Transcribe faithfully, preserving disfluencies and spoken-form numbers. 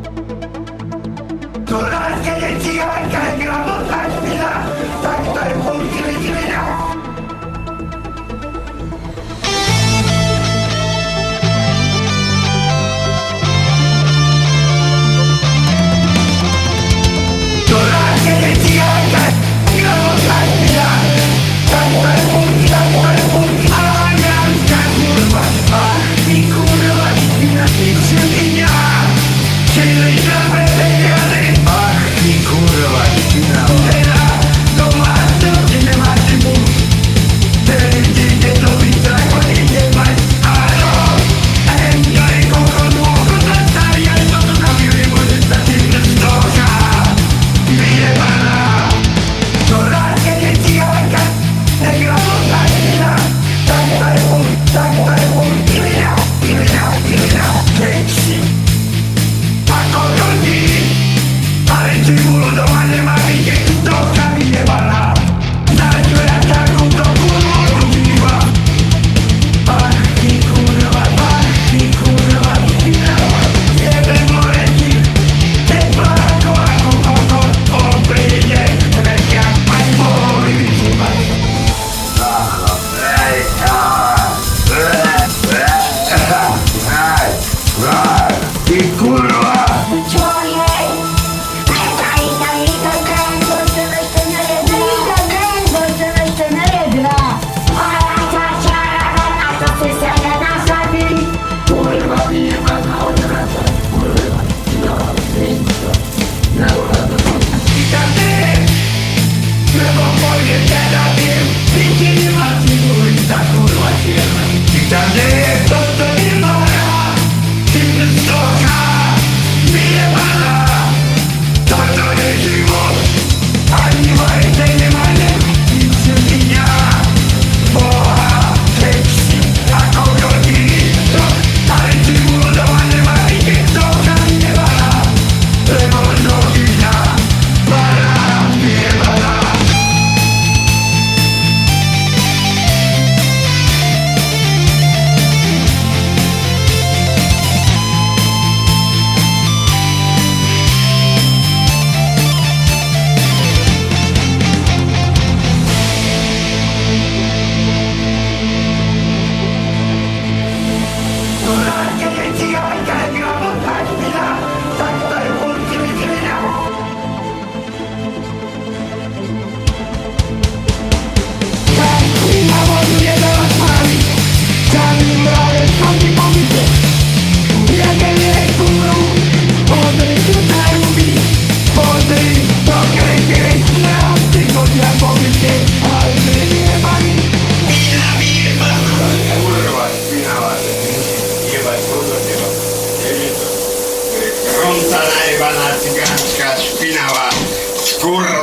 Toda que je cigánka, gramotná špina, tak to je poučili špina. Toda que je cigánka, gramotná špina, tak to je poučili, tak to je poučili. A gramská kurva, ach ty kurva špina, ty špina, čili žabe peniazy. Ach ty kurva špina, teda doma to ti nemáte muž, tedy idete do bytra, chodíte mať, áno, henka je kokodu, ochotná starý, aj toto na mili môže sa ti vrstovka, vyjebaná. Ktorá keď je cigánka, negramotná špina, tak to je púd, tak to je púd, špina, špina, špina, sexy. Ako chodí, ale ty bolo doma nemá vidieť, stovka vyjebaná. Začuja takúto kurvu ľudíva. Ach ty kurva, ach ty kurva, špina, jebem moreti, teplá ako ako kokos, on príde, tretia, aj mohli vyžívať. Ej, ty kurva! Čo je? Tady, tady, to ten, to jsem ještě nejedla, to ten, to jsem ještě nejedla. A já ta čára, a to si se nenasadí. Kurva vyjebaná odvrata, kurva, no, vinco, neurado. Vítate, nebo pôjdete na tým, ty ti nemáte mluviť, tá kurva čierna. Vítate, toto nemá rád, ty vrstovka, vyjebaná. Toto je život, ani majte nemáte, ty srdiňa, boha, sexy, ako chodí, no, ale ty bolo doma nemá vidieť, stovka vyjebaná, lebo nohyňa, bará, vyjebaná. Ktorá keď je cigánka, gramotná špina, tak to je poučili špina. Tak na vodu nedala spáliť, sami mráve chodí po byte. Jaké je kurvu, pozri, čo sa ľubí, pozri, to krejte, na ty chodia po byte, ale my nejebaní. Špina vyjebaná. Kurva špinavá, jebať podľa teba, je to. Fronta najebaná cigánska špinavá, kurva.